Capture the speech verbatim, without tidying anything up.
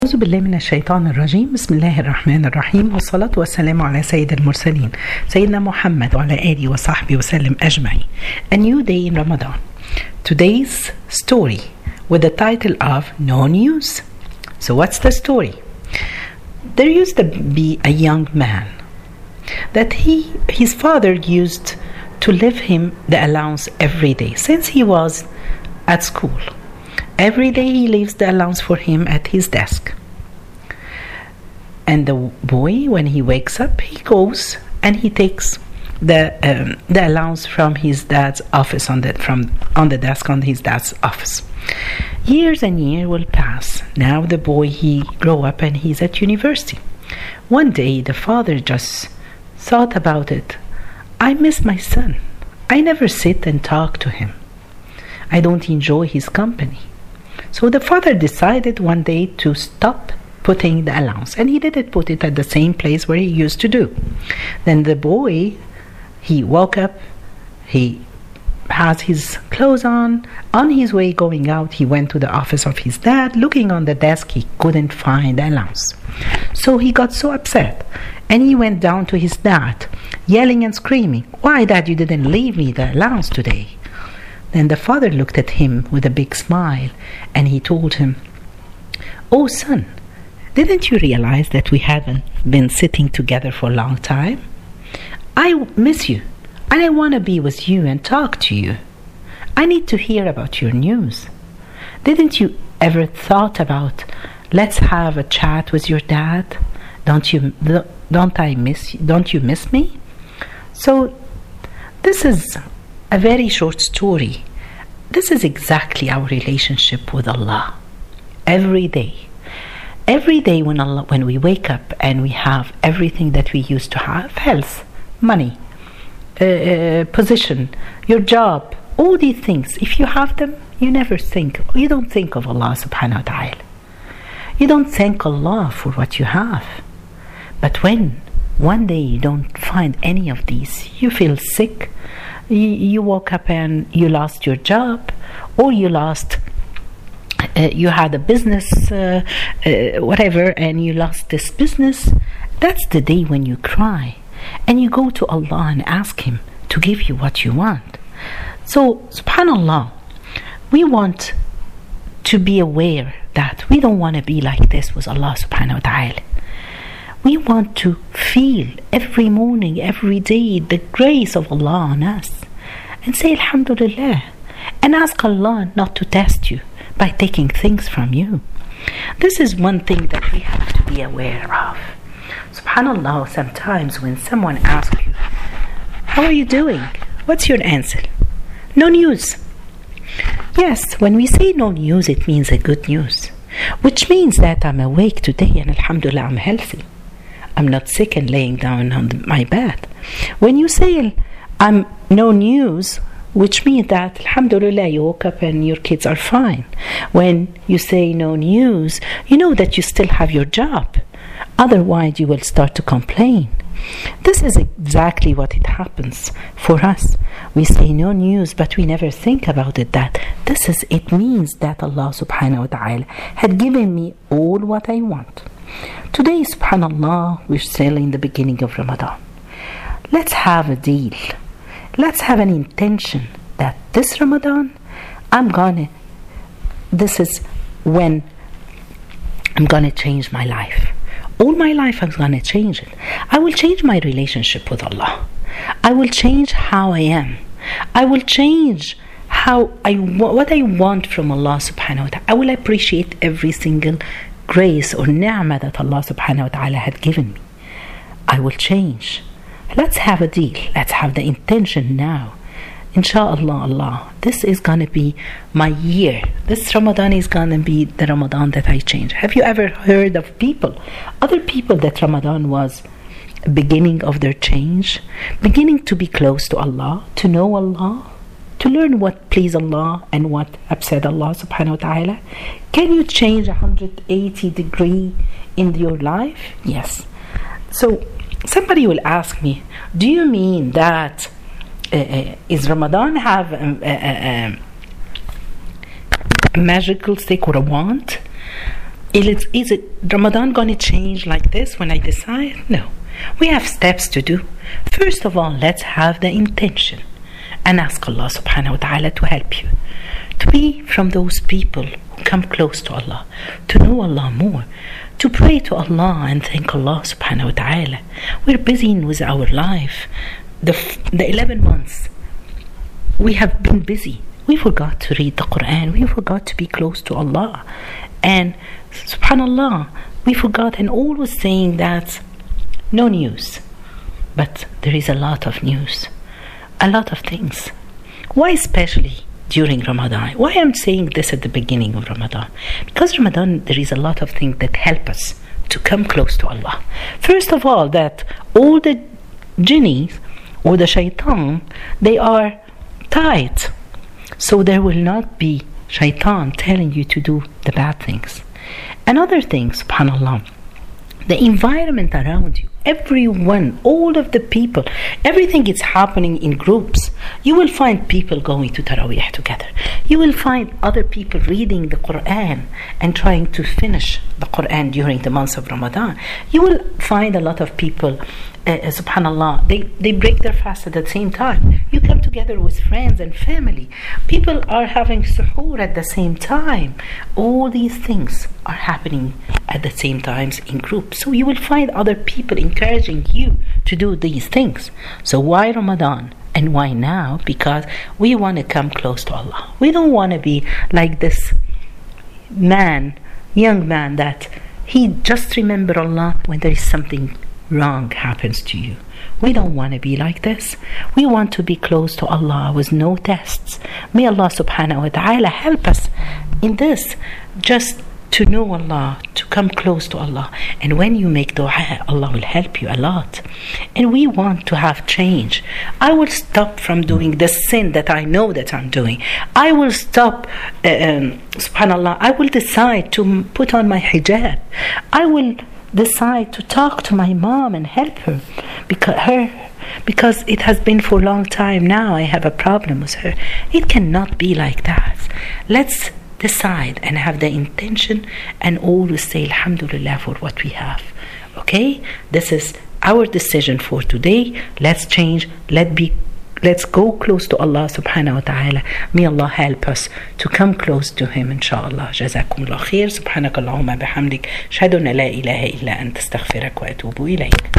أعوذ بالله من الشيطان الرجيم. بسم الله الرحمن الرحيم، والصلاة والسلام على سيد المرسلين سيدنا محمد وعلى آله وصحبه وسلم أجمعين. A new day in Ramadan. Today's story with the title of No News. So what's the story? There used to be a young man that he his father used to give him the allowance every day since he was at school. Every day he leaves the allowance for him at his desk. And the boy, when he wakes up, he goes and he takes the um, the allowance from his dad's office on the from on the desk on his dad's office. Years and years will pass. Now the boy he grow up and he's at university. One day the father just thought about it. I miss my son. I never sit and talk to him. I don't enjoy his company. So the father decided one day to stop putting the allowance, and he didn't put it at the same place where he used to do. Then the boy, he woke up, he has his clothes on. On his way going out, he went to the office of his dad. Looking on the desk, he couldn't find the allowance. So he got so upset, and he went down to his dad, yelling and screaming, "Why, Dad, you didn't leave me the allowance today?" Then the father looked at him with a big smile and he told him, "Oh son, didn't you realize that we haven't been sitting together for a long time? I miss you and I want to be with you and talk to you. I need to hear about your news. Didn't you ever thought about let's have a chat with your dad? Don't you don't I miss you? Don't you miss me?" So this is a very short story. This is exactly our relationship with Allah. Every day. Every day when Allah, when we wake up and we have everything that we used to have, health, money, uh, uh, position, your job, all these things, if you have them, you never think, you don't think of Allah subhanahu wa ta'ala. You don't thank Allah for what you have. But when one day you don't find any of these, you feel sick, you woke up and you lost your job, or you lost uh, you had a business uh, uh, whatever, and you lost this business. That's the day when you cry and you go to Allah and ask him to give you what you want. So subhanallah, we want to be aware that we don't want to be like this with Allah subhanahu wa ta'ala. We want to feel every morning, every day, the grace of Allah on us and say Alhamdulillah and ask Allah not to test you by taking things from you. This is one thing that we have to be aware of. SubhanAllah, sometimes when someone asks you, "How are you doing?" What's your answer? No news. Yes, when we say no news, it means a good news, which means that I'm awake today and Alhamdulillah I'm healthy. I'm not sick and laying down on my bed. When you say I'm no news, which means that Alhamdulillah you woke up and your kids are fine. When you say no news, you know that you still have your job. Otherwise you will start to complain. This is exactly what it happens for us. We say no news, but we never think about it, that this is it means that Allah subhanahu wa ta'ala had given me all what I want. Today, subhanallah, we're still in the beginning of Ramadan. Let's have a deal. Let's have an intention that this Ramadan, I'm gonna, this is when I'm gonna change my life. All my life I'm gonna change it. I will change my relationship with Allah. I will change how I am. I will change how I what I want from Allah subhanahu wa ta'ala. I will appreciate every single grace or ni'mah that Allah subhanahu wa ta'ala had given me. I will change. Let's have a deal. Let's have the intention now. Inshallah, Allah, this is gonna be my year. This Ramadan is gonna be the Ramadan that I change. Have you ever heard of people, other people, that Ramadan was beginning of their change, beginning to be close to Allah, to know Allah, to learn what please Allah and what upset Allah subhanahu wa ta'ala? Can you change one hundred eighty degree in your life? Yes. So somebody will ask me, do you mean that uh, uh, is Ramadan have a, a, a, a magical stick or a wand? Is it, is it Ramadan going to change like this when I decide? No. We have steps to do. First of all, let's have the intention and ask Allah subhanahu wa ta'ala to help you. To be from those people who come close to Allah, to know Allah more, to pray to Allah and thank Allah subhanahu wa ta'ala. We're busy with our life. The, the eleven months, we have been busy. We forgot to read the Quran. We forgot to be close to Allah. And subhanallah, we forgot and always saying that no news. But there is a lot of news. A lot of things. Why especially during Ramadan? Why I'm saying this at the beginning of Ramadan? Because Ramadan, there is a lot of things that help us to come close to Allah. First of all, that all the jinnis or the shaitan, they are tied. So there will not be shaitan telling you to do the bad things. Another thing, subhanallah, the environment around you, everyone, all of the people, everything is happening in groups. You will find people going to Taraweeh together. You will find other people reading the Quran and trying to finish the Quran during the months of Ramadan. You will find a lot of people, uh, subhanallah, they, they break their fast at the same time. You come together with friends and family. People are having suhoor at the same time. All these things are happening at the same times in groups. So you will find other people encouraging you to do these things. So why Ramadan? And why now? Because we want to come close to Allah. We don't want to be like this man, young man, that he just remember Allah when there is something wrong happens to you. We don't want to be like this. We want to be close to Allah with no tests. May Allah subhanahu wa ta'ala help us in this. Just to know Allah, to come close to Allah. And when you make dua, Allah will help you a lot. And we want to have change. I will stop from doing the sin that I know that I'm doing. I will stop, uh, um, subhanallah, I will decide to put on my hijab. I will decide to talk to my mom and help her because her because it has been for a long time now. I have a problem with her. It cannot be like that. Let's decide and have the intention and always say alhamdulillah for what we have. Okay, this is our decision for today. Let's change. Let be let's go close to Allah subhanahu wa ta'ala. May Allah help us to come close to him, inshallah. جزاكم الله خير. سبحانك اللهم بحمدك أشهد أن لا إله إلا أنت أستغفرك وأتوب إليك.